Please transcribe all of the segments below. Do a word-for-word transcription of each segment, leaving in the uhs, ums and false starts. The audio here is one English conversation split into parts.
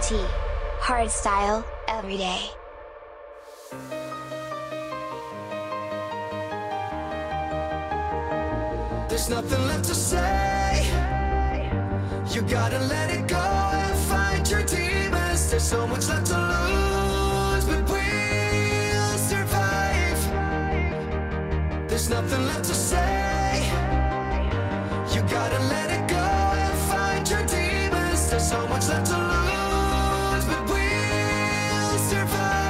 T. Hardstyle, every day. There's nothing left to say. You gotta let it go and fight your demons. There's so much left to lose, but we'll survive. There's nothing left to say. You gotta let it go and fight your demons. There's so much left to lose, but we'll survive.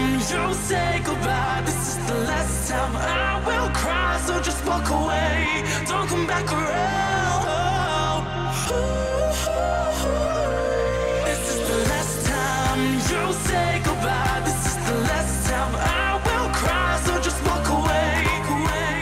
you say goodbye. This is the last time I will cry, so just walk away, don't come back around. This is the last time you say goodbye. This is the last time I will cry, so just walk away, away.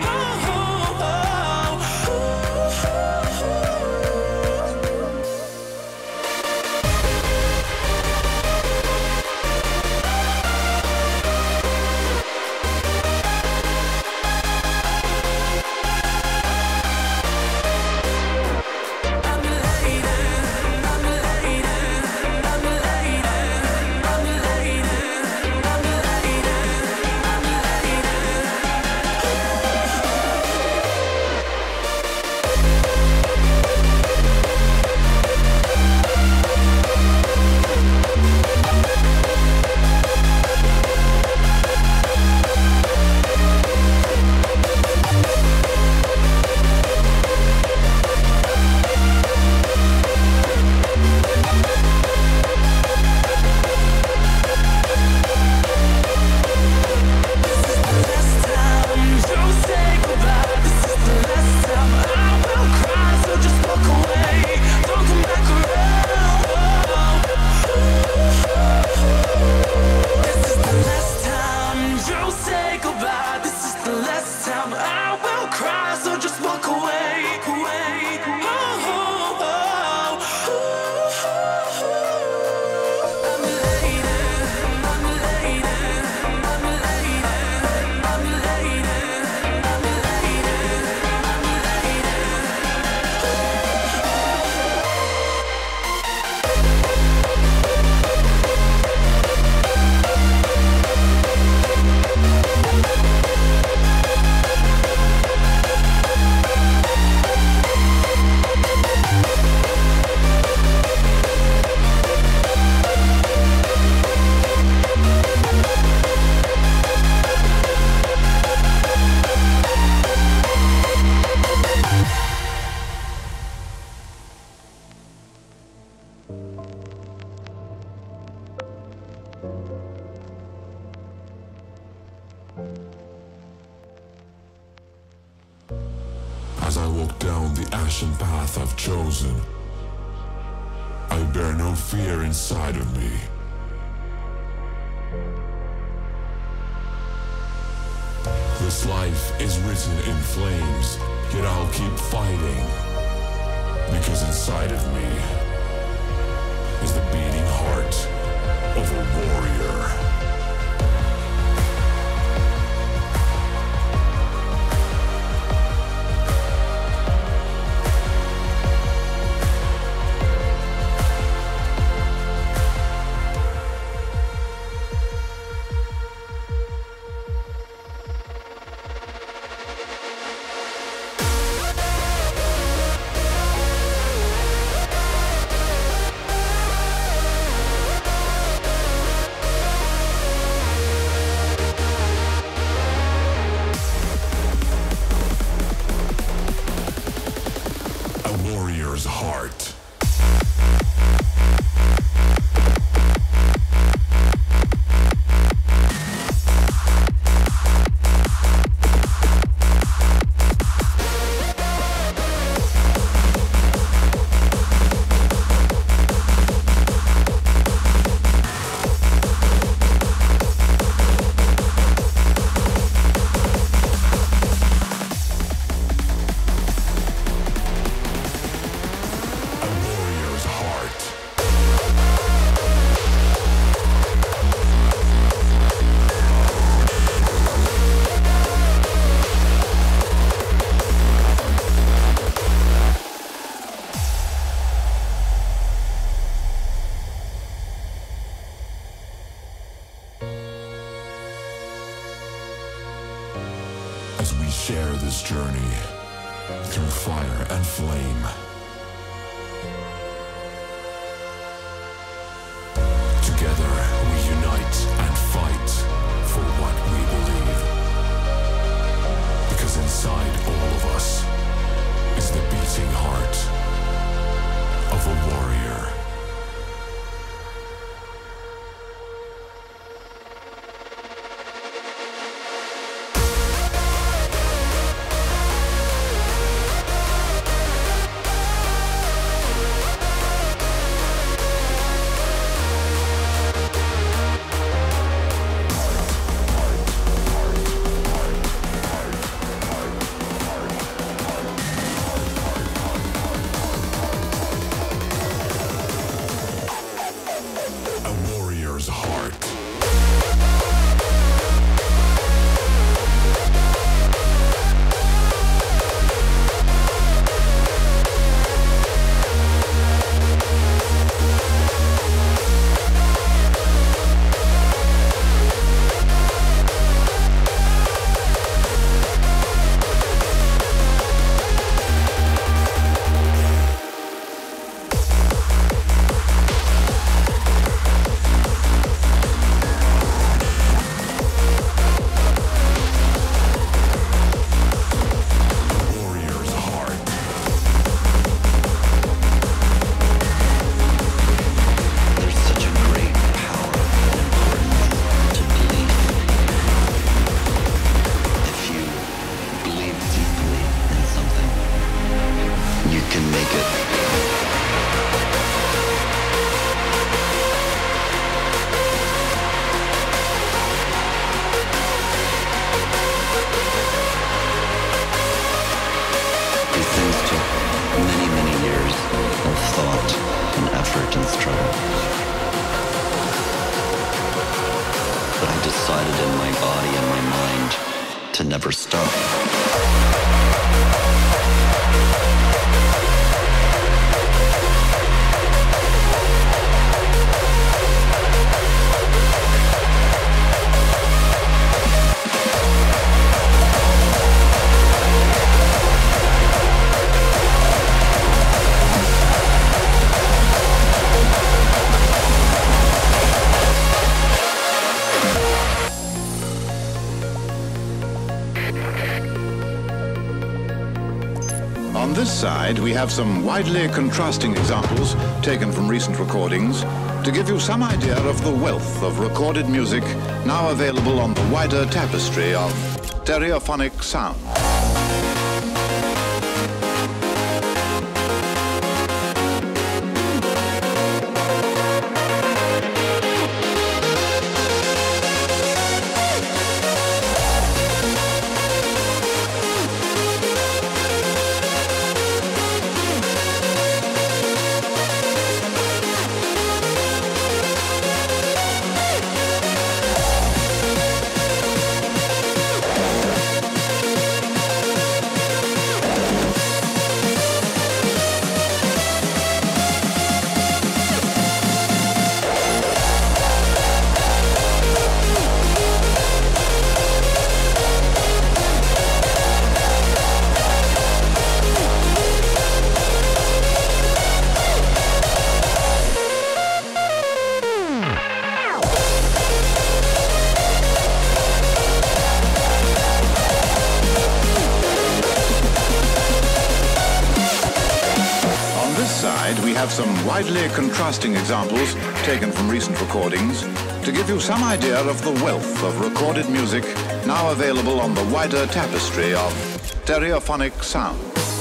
As I walk down the ashen path I've chosen, I bear no fear inside of me. This life is written in flames, yet I'll keep fighting, because inside of me is the beating heart of a warrior. Heart. As we share this journey through fire and flame, together we unite and fight for what we believe, because inside all of us is the beating heart of a warrior. that I decided in my body and my mind to never stop. On this side, we have some widely contrasting examples taken from recent recordings to give you some idea of the wealth of recorded music now available on the wider tapestry of stereophonic sound. We have some widely contrasting examples taken from recent recordings to give you some idea of the wealth of recorded music now available on the wider tapestry of stereophonic sound.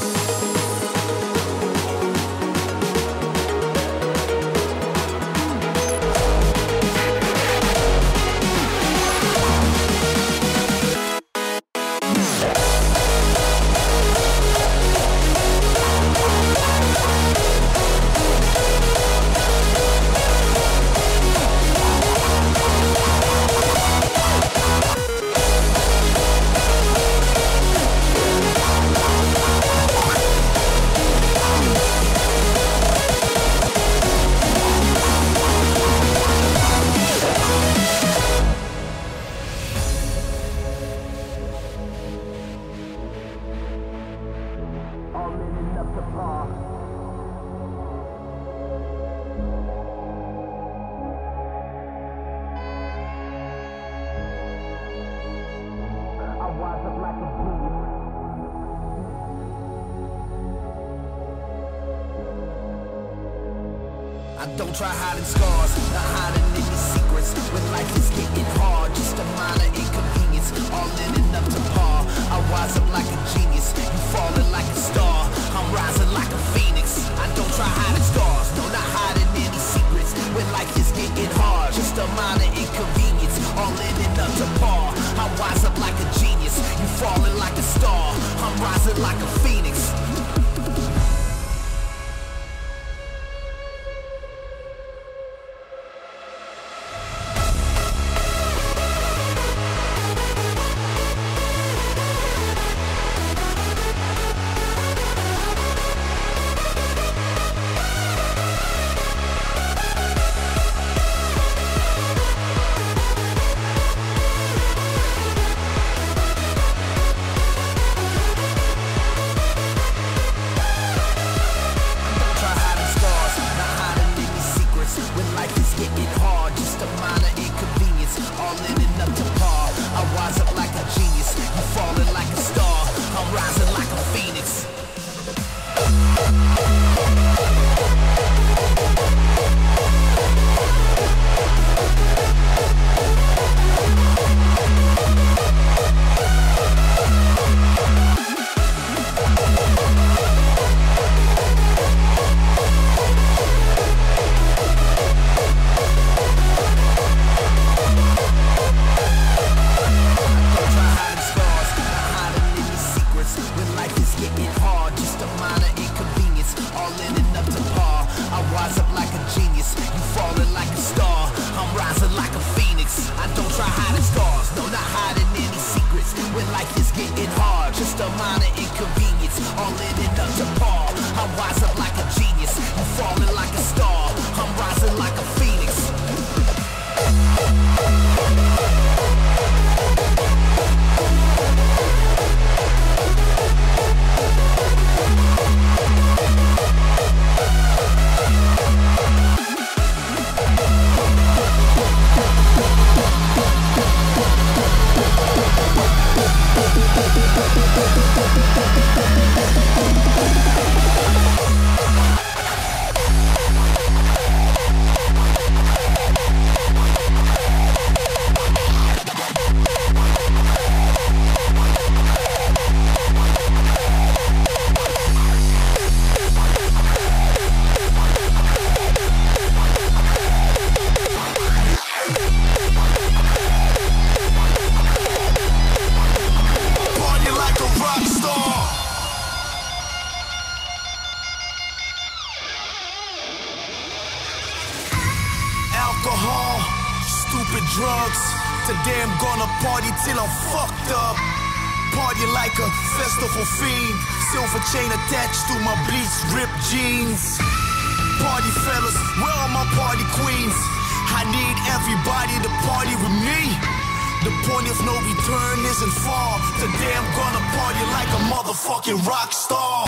Don't try hiding scars, not hiding any secrets. When life is getting hard, just a minor inconvenience. All in and up to par, I rise up like a genius. You falling like a star, I'm rising like a phoenix. I don't try hiding scars, no, not hiding any secrets. When life is getting hard, just a minor inconvenience. All in and up to par, I rise up like a genius. You falling like a star, I'm rising like a phoenix. I don't try hiding scars, no, not hiding any secrets. When life is getting hard, just a minor inconvenience, all in and up to par. I wise up like a genius, you falling like a star, I'm rising like a phoenix. Today I'm gonna party till I'm fucked up. Party like a festival fiend. Silver chain attached to my bleached ripped jeans. Party fellas, where are my party queens? I need everybody to party with me. The point of no return isn't far. Today I'm gonna party like a motherfucking rock star.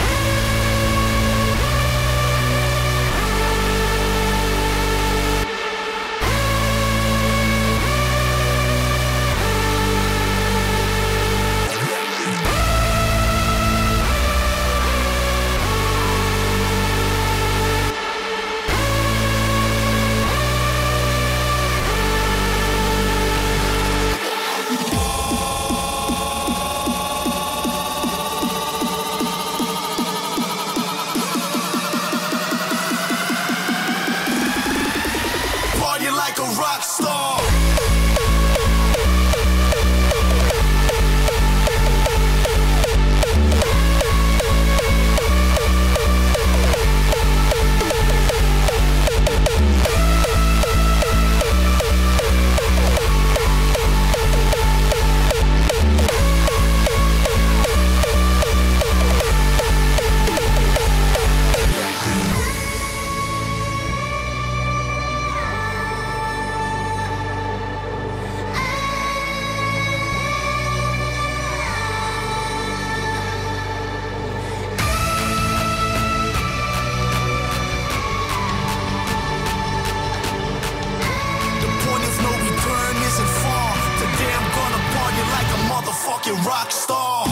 Rock star.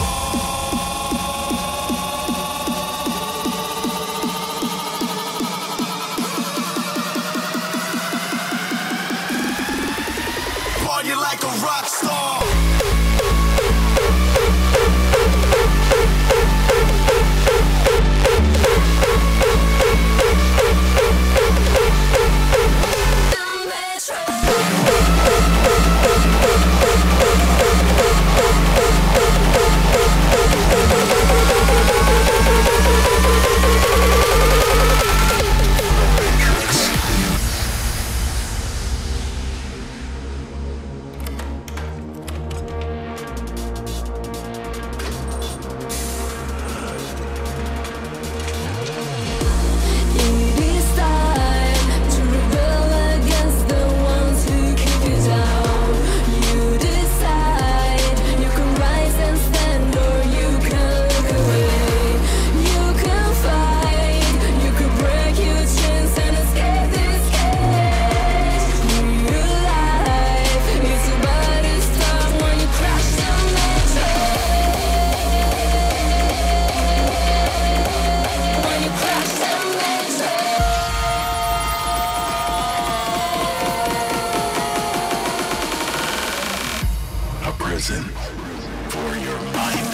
Party like a rock star. prison for your mind.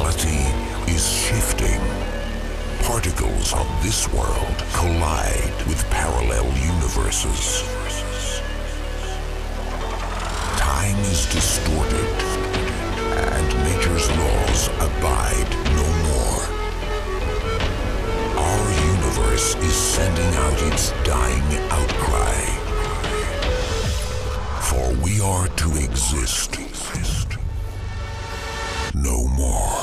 reality is shifting. Particles of this world collide with parallel universes. Time is distorted, and nature's laws abide no more. Our universe is sending out its dying outcry. For we are to exist no more.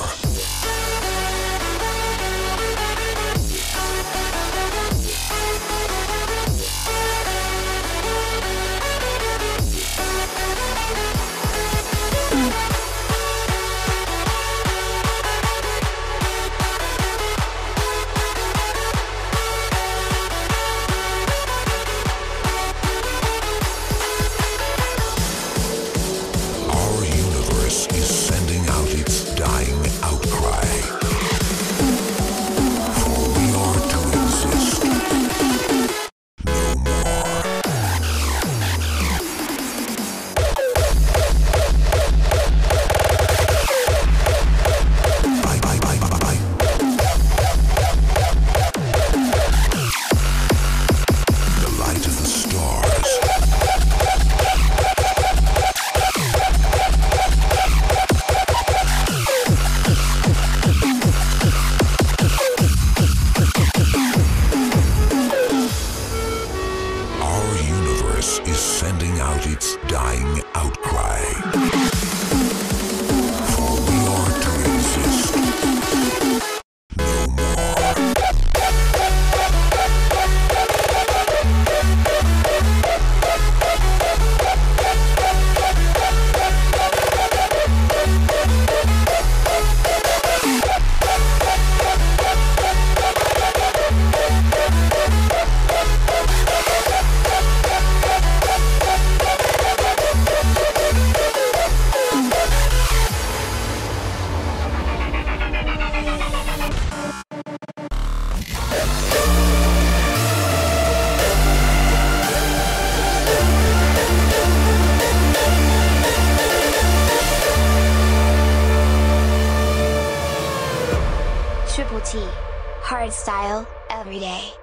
Triple T. Hardstyle, every day.